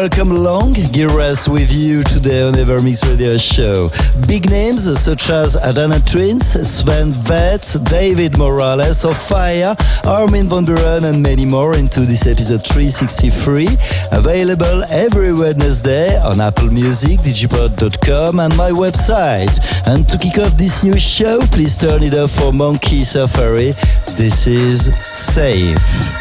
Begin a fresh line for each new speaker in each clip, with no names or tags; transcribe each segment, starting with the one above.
Welcome along, Giras with you today on Evermix Radio Show. Big names such as Adana Twins, Sven Vetz, David Morales of Fire, Armin van Buuren and many more into this episode 363. Available every Wednesday on Apple Music, digipod.com and my website. And to kick off this new show, please turn it up for Monkey Safari. This is Safe.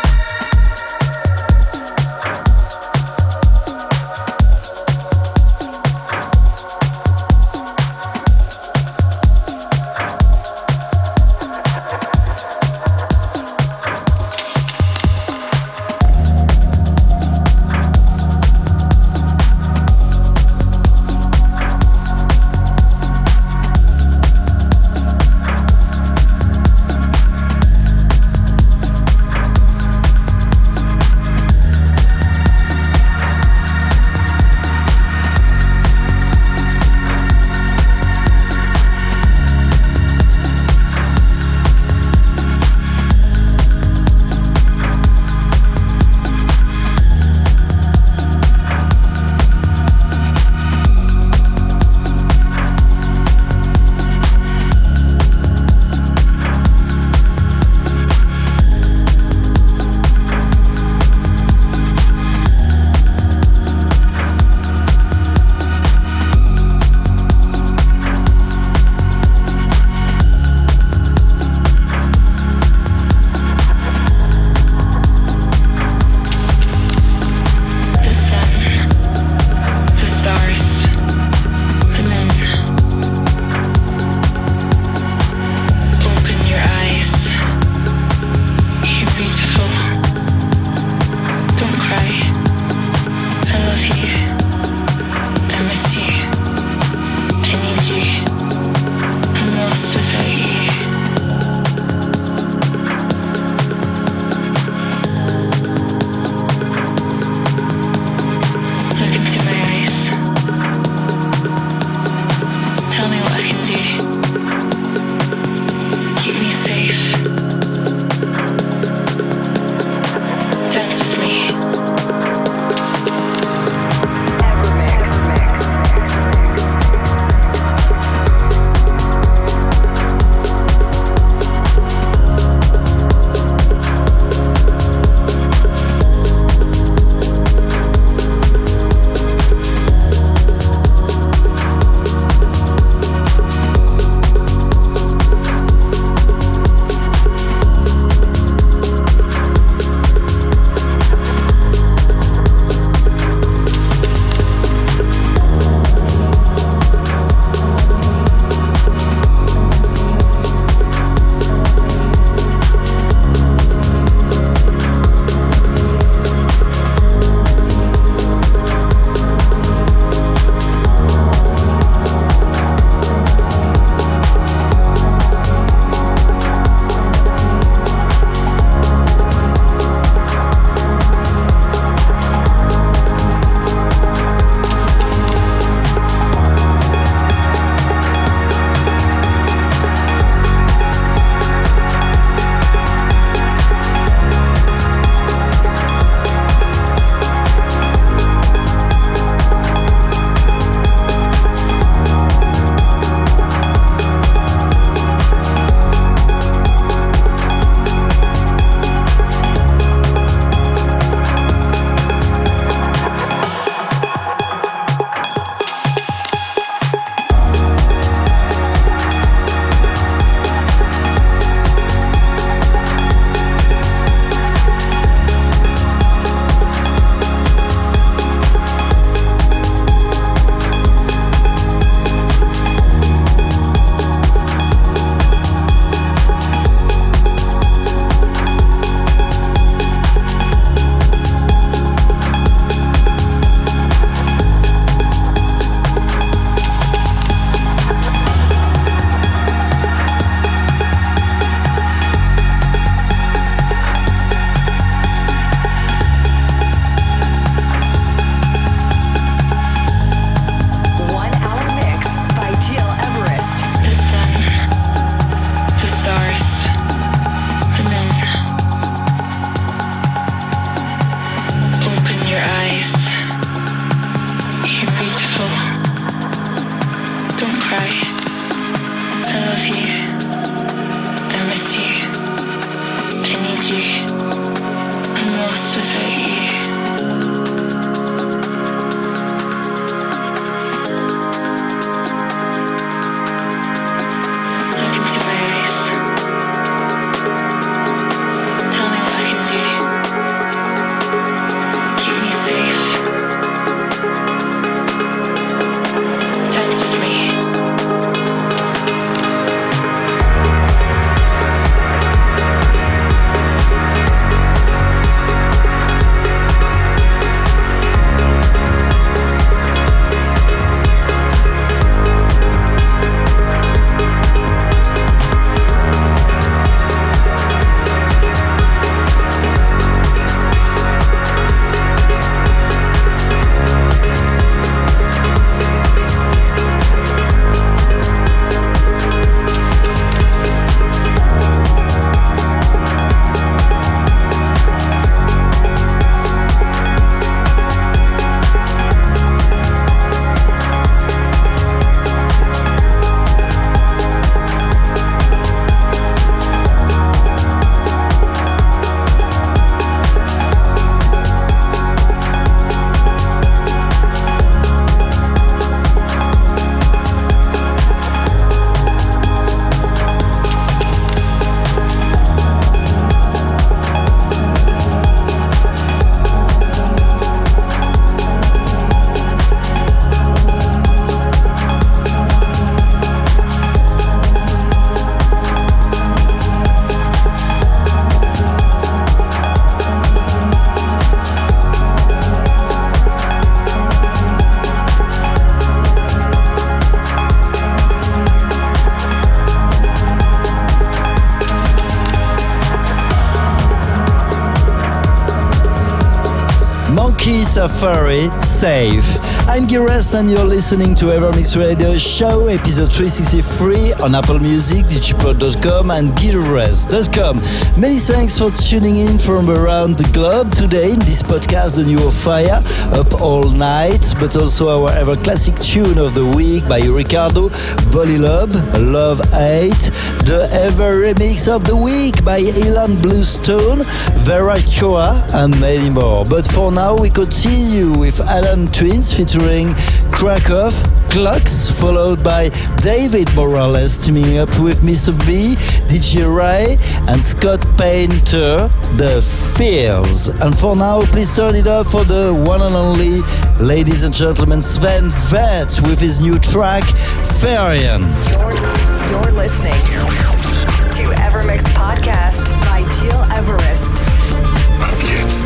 Key Safari, Safe. I'm Gires and you're listening to Evermix Radio Show, episode 363 on Apple Music, digipod.com and Gires.com. Many thanks for tuning in from around the globe today in this podcast, The New Fire, Up All Night, but also our ever classic tune of the week by Ricardo, Volilob, Love 8, the ever remix of the week by Ilan Bluestone, Vera Choa and many more. But for now we continue with Alan Twins featuring Krakow, Clocks, followed by David Morales teaming up with Mr. V, DJ Ray and Scott Painter, The Fears. And for now, please turn it up for the one and only, ladies and gentlemen, Sven Väth with his new track, Farian.
You're listening to Evermix Podcast by Gil Everest.
Ab jetzt.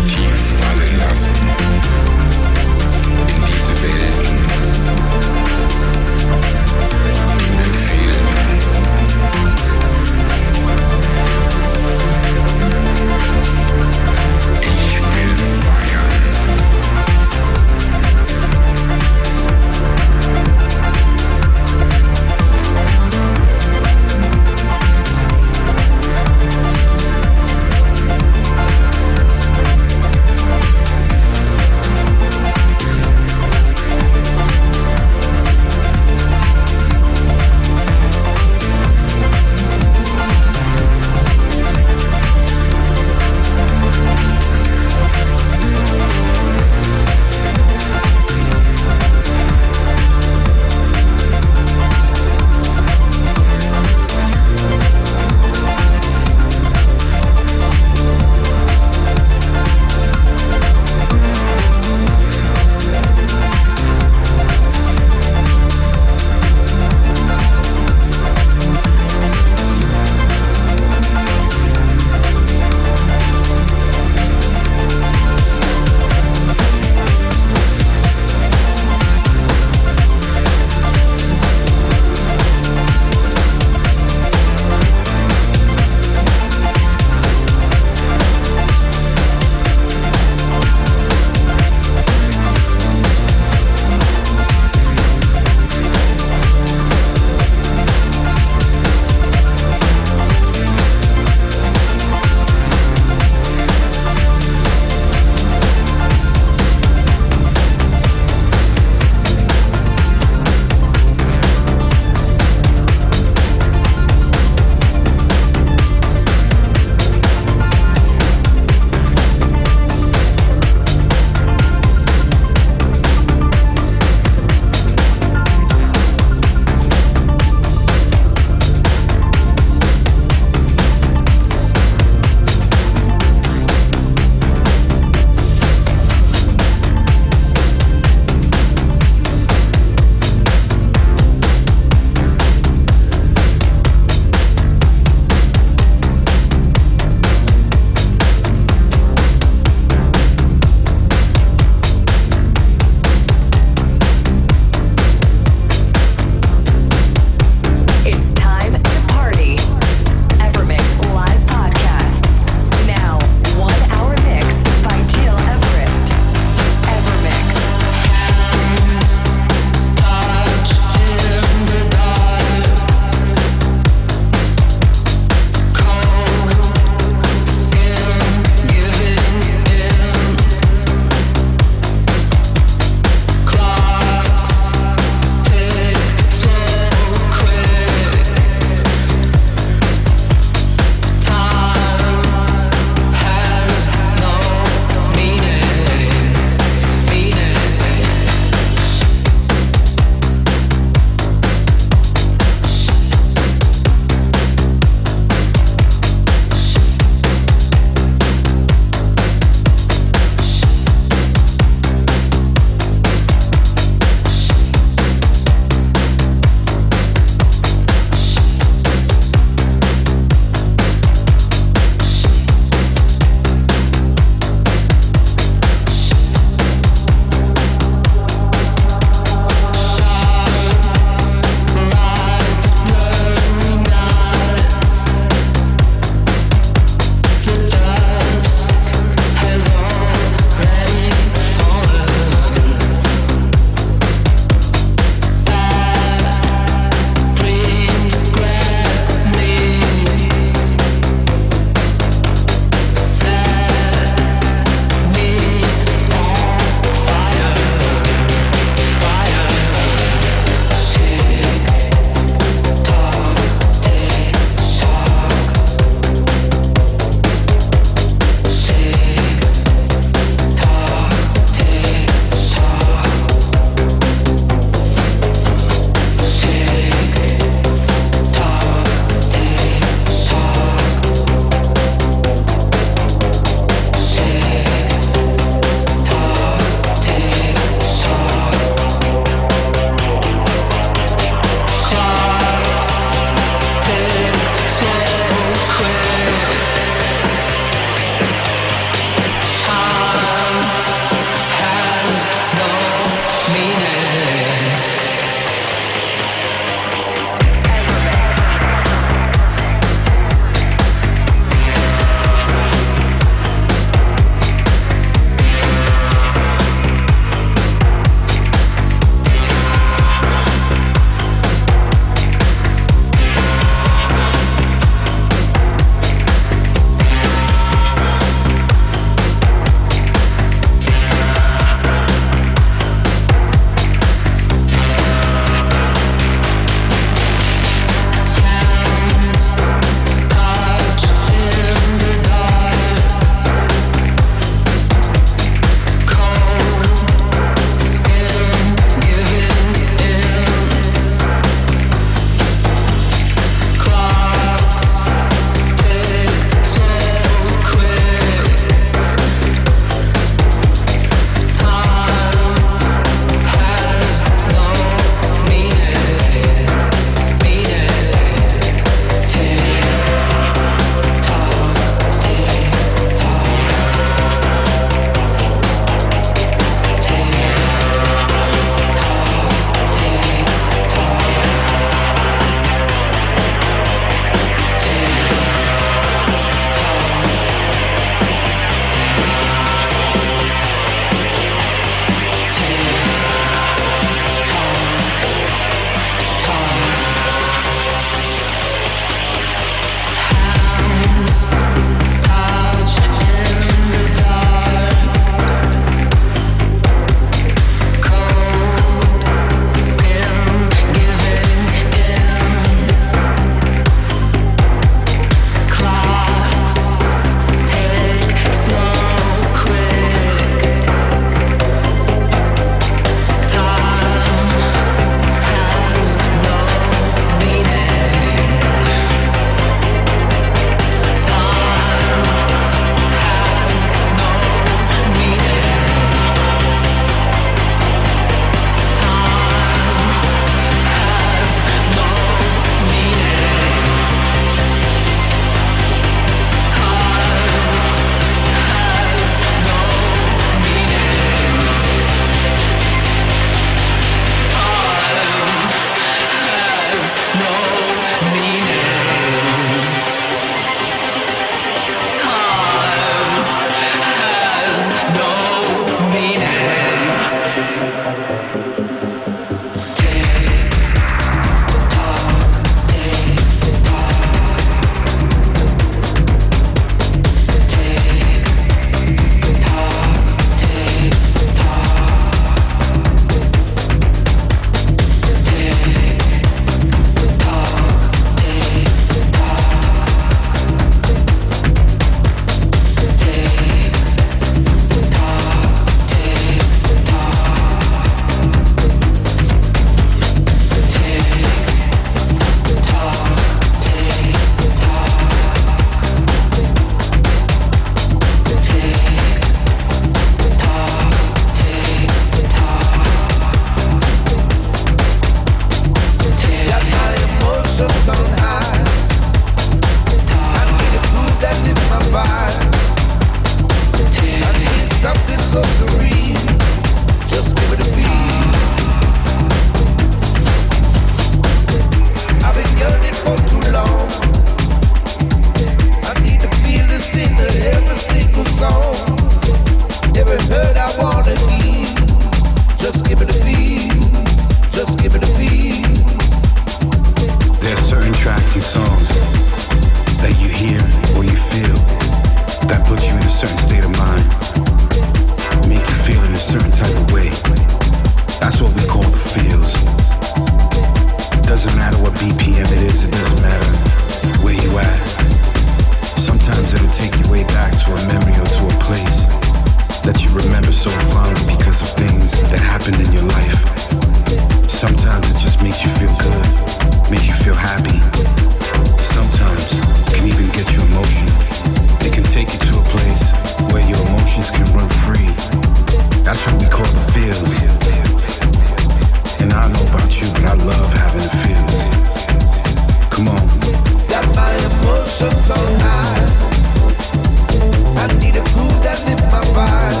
certain state of mind, make you feel in a certain type of way. That's what we call the feels. Doesn't matter what BPM it is, it doesn't matter where you at. Sometimes it'll take you way back to a memory or to a place that you remember so fondly because of things that happened in your life. Sometimes it just makes you feel good, makes you feel happy. Sometimes it can even get you emotional. It can take you to a place where your emotions can run free. That's what we call the feels. And I don't know about you, but I love having the feels. Come on.
Got my emotions on high. I need a groove that lifts my vibe.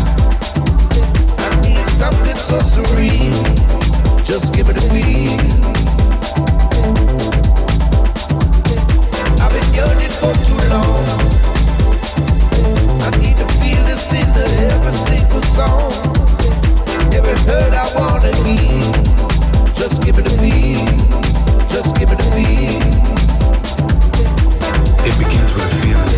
I need something so serene. Just give it a feel. I've been yearning for too long. I need to feel this in every single song. Every hurt I wanna heal. Just give it a feel. Just give it a feel.
It begins with a feeling.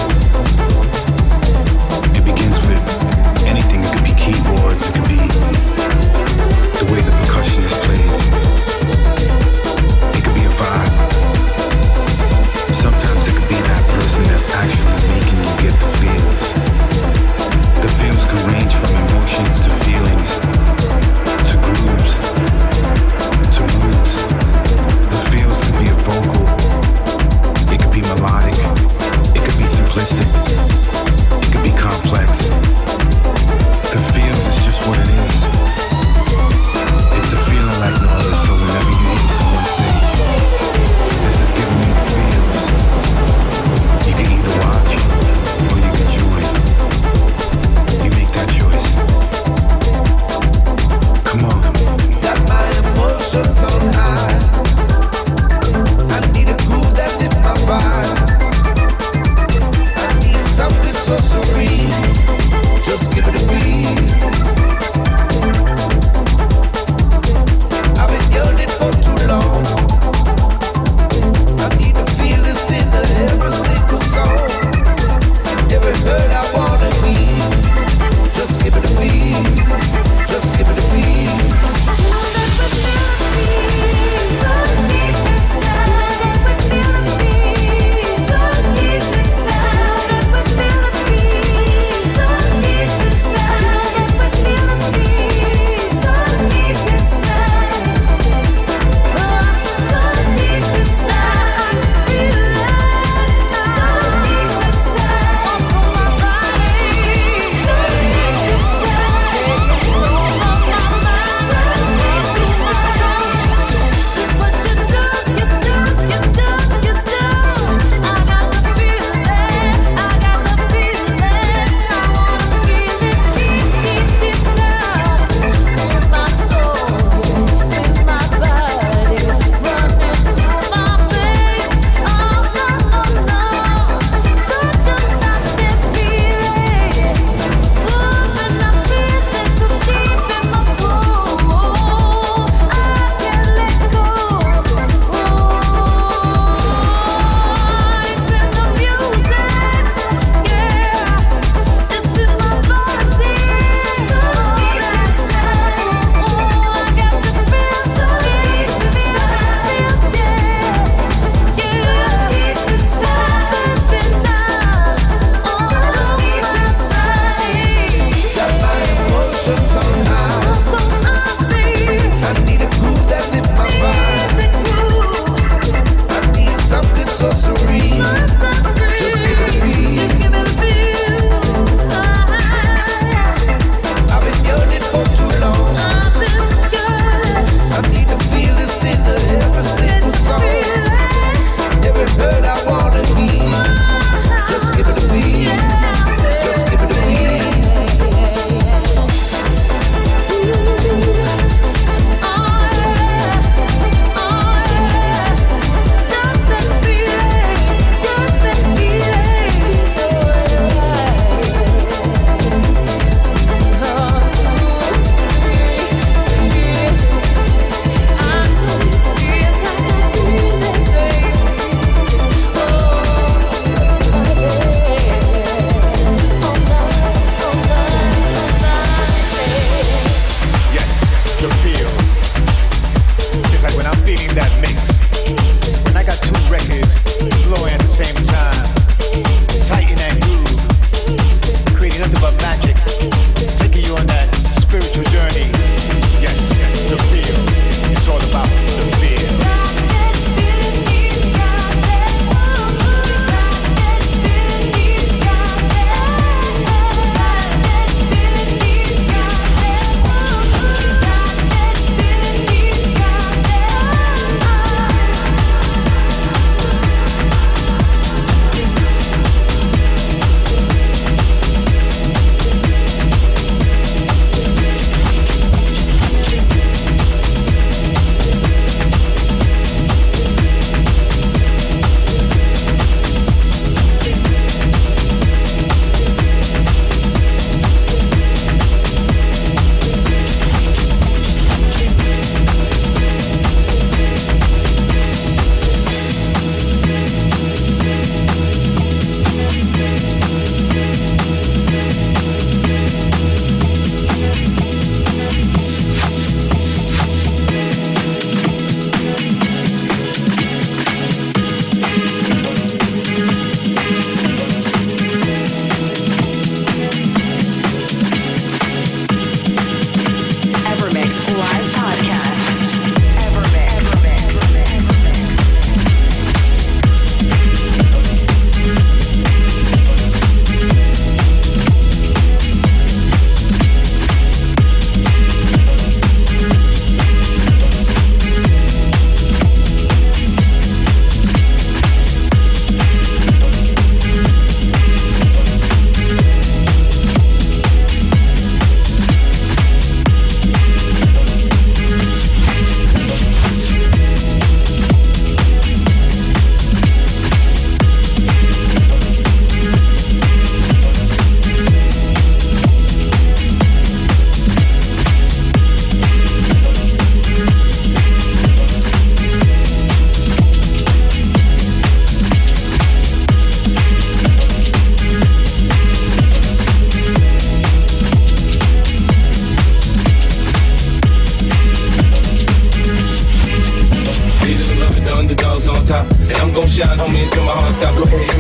It begins with anything. It could be keyboards. It could be the way the percussion is played. It could be a vibe. Sometimes it could be that person that's actually making you get the feels. The feels can range from emotions to feelings, to grooves, to moods. The feels can be a vocal, it could be melodic,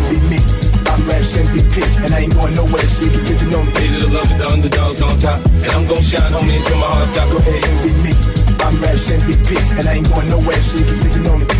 envy me. I'm Raps MVP, and I ain't going nowhere, so you can get to know me.
Hated to love it, the underdogs on top, and I'm gon' shine, homie, until my heart stop.
Go ahead, envy me. I'm Raps MVP, and I ain't going nowhere, so you can get to know me.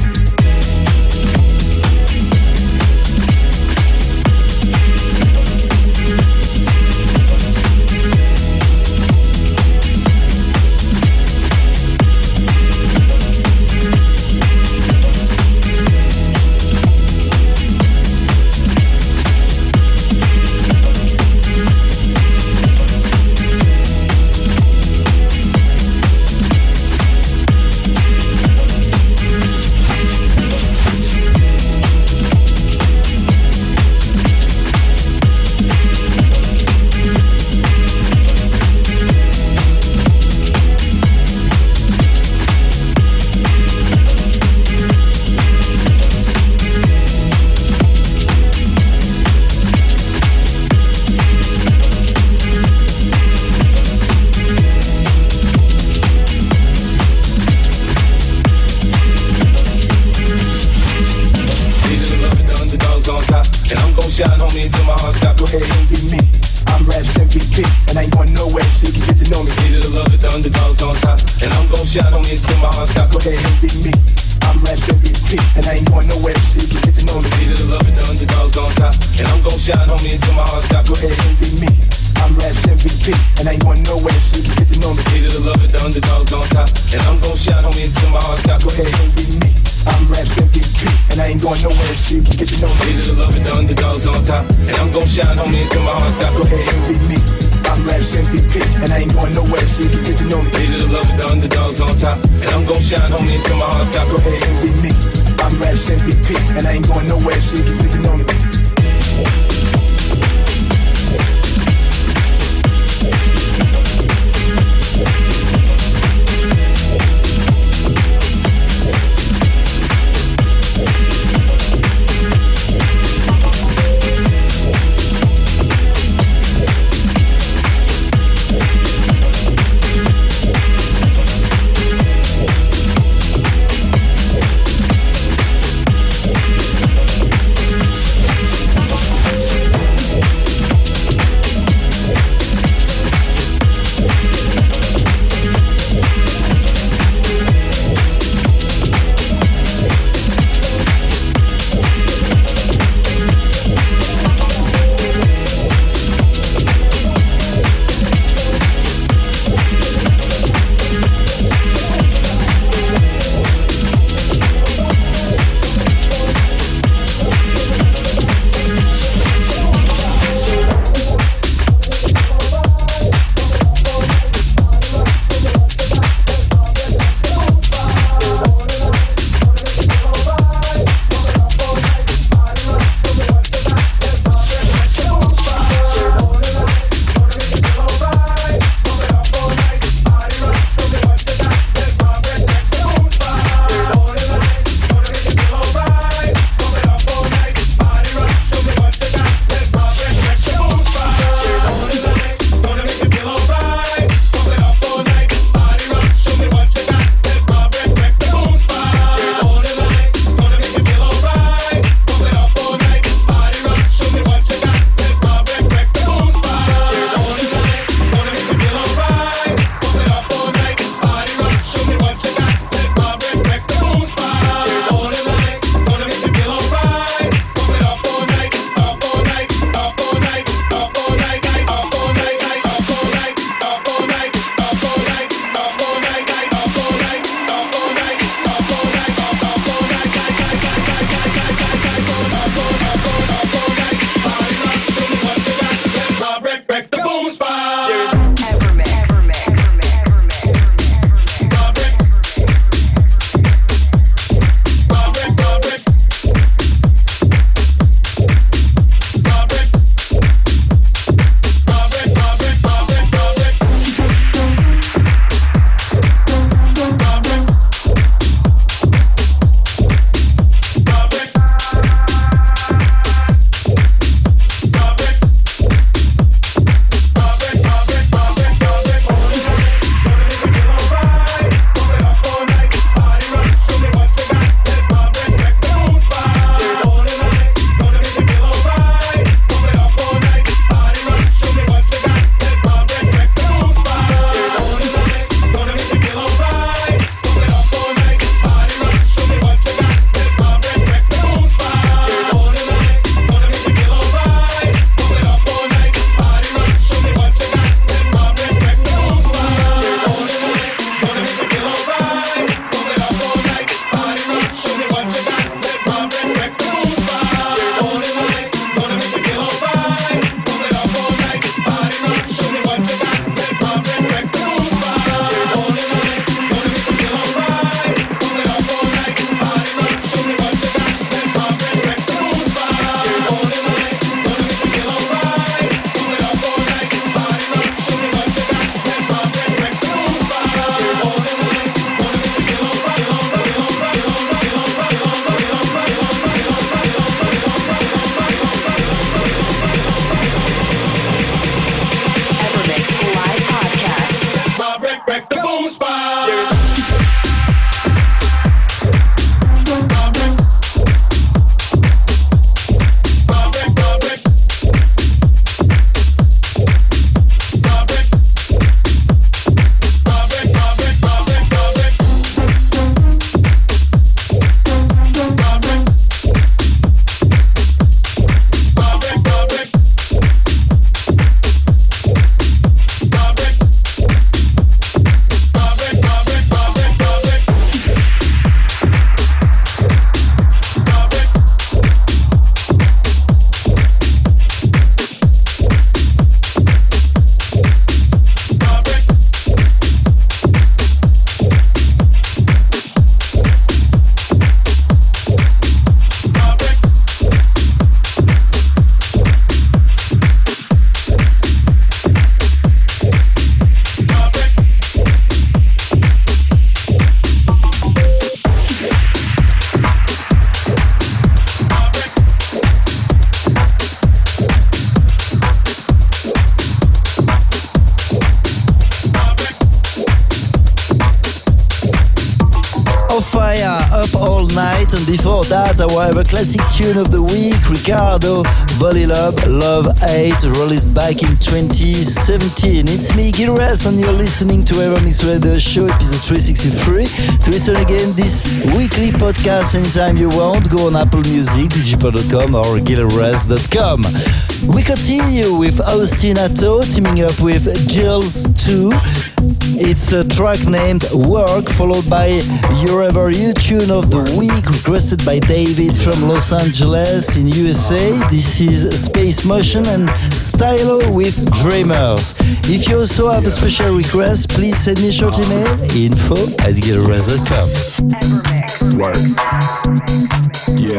before that, our ever classic tune of the week, Ricardo, Body Love, Love 8, released back in 2017. It's me, Gil Everest, and you're listening to Evermix Radio Show, episode 363. To listen again this weekly podcast anytime you want, go on Apple Music, digipod.com or gileverest.com. We continue with Austin Atto teaming up with Jills 2. It's a track named Work, followed by Your Ever You tune of the week, requested by David from Los Angeles in USA. This is Space Motion and Stylo with Dreamers. If you also have a special request, please send me a short email, info@gileverest.com.
Work. Yeah.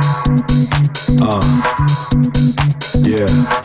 Yeah.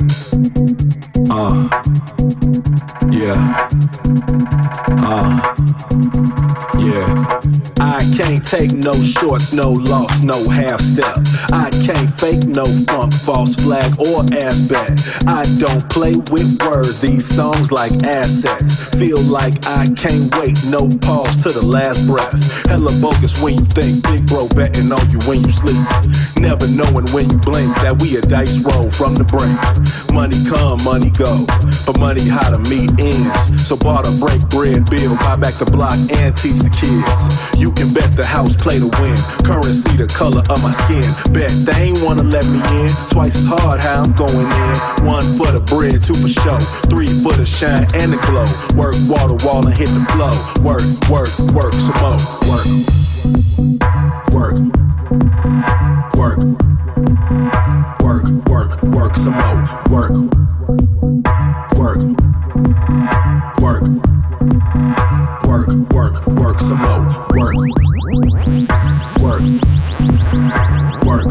Yeah. I can't take no shorts, no loss, no half step. I can't fake no funk, false flag, or aspect. I don't play with words, these songs like assets. Feel like I can't wait, no pause to the last breath. Hella bogus when you think, big bro betting on you when you sleep. Never knowing when you blink that we a dice roll from the brink. Money come, money go, but money how to meet ends. So barter, break bread, build, buy back the block and teach the kids. You can bet the house play to win. Currency the color of my skin. Bet they ain't wanna let me in. Twice as hard how I'm going in. 1 for the bread, 2 for show, 3 for the shine and the glow. Work wall to wall and hit the flow. Work, work, work some more. Work, work, work, work, work, work some more. Work, work, work, work, work, work some more. Work, work, work,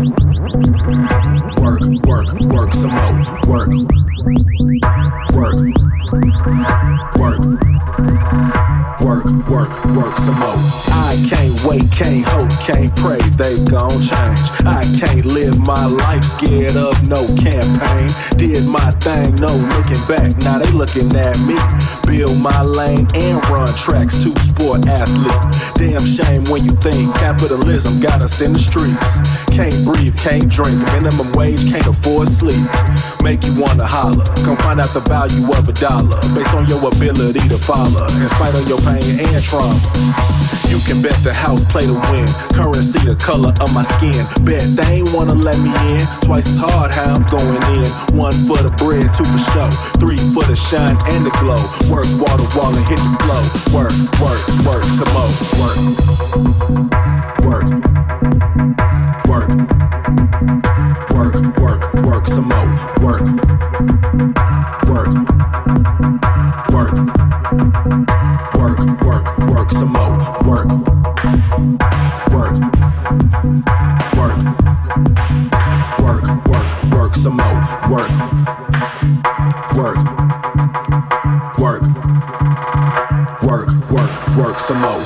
work, work, work some more. Work, work, work, work, work, work some more. I can't wait, can't hope, can't pray they gon' change. I can't live my life scared of no campaign. Did my thing, no looking back, now they looking at me. Build my lane and run tracks, 2-sport athlete. Damn shame when you think capitalism got us in the streets. Can't breathe, can't drink, minimum wage, can't afford sleep. Make you wanna holler, come find out the value of $1 based on your ability to follow, in spite of your pain and trauma. You can bet the house play to win. Currency the color of my skin. Bet they ain't wanna let me in. Twice as hard how I'm going in. 1 for the bread, 2 for show, 3 for the shine and the glow. Work wall to wall and hit the flow. Work, work, work some more. Work, work, work, work, work, work some more. Work, work, work, work, work, work some more. Work, work, work, work, work, work some more. Work, work, work, work, work, work some more.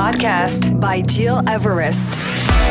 Podcast by Gil Everest.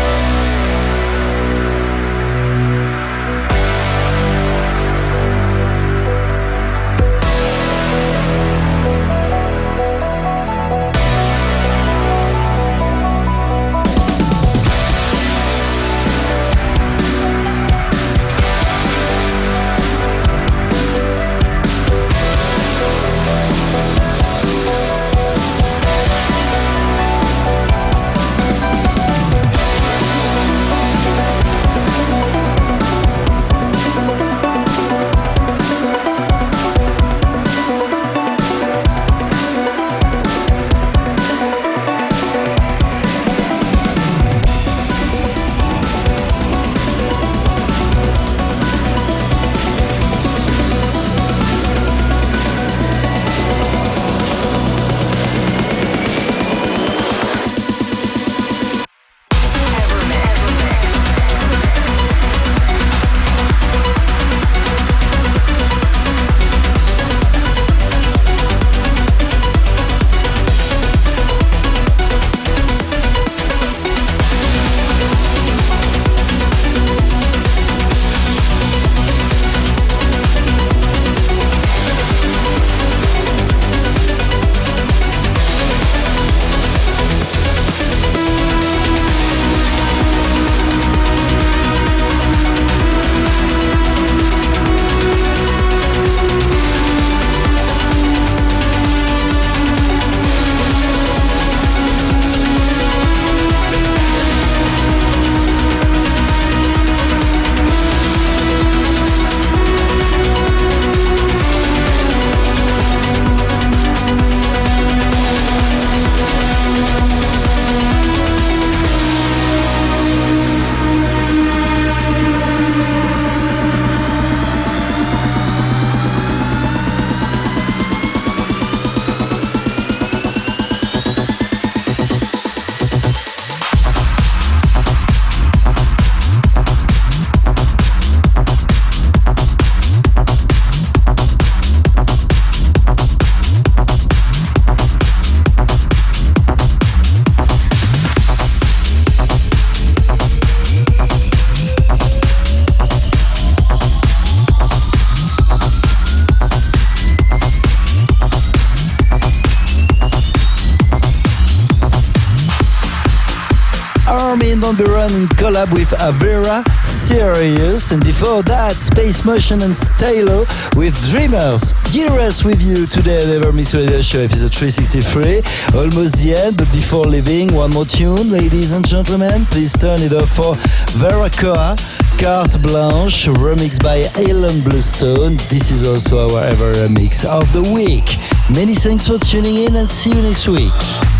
Armin van Buuren in collab with Avera, Serious, and before that, Space Motion and Stalo with Dreamers. Gil Everest with you today on Never Miss Radio Show, episode 363. Almost the end, but before leaving, one more tune, ladies and gentlemen. Please turn it up for Vera Koa, Carte Blanche, remixed by Alan Bluestone. This is also our ever remix of the week. Many thanks for tuning in and see you next week.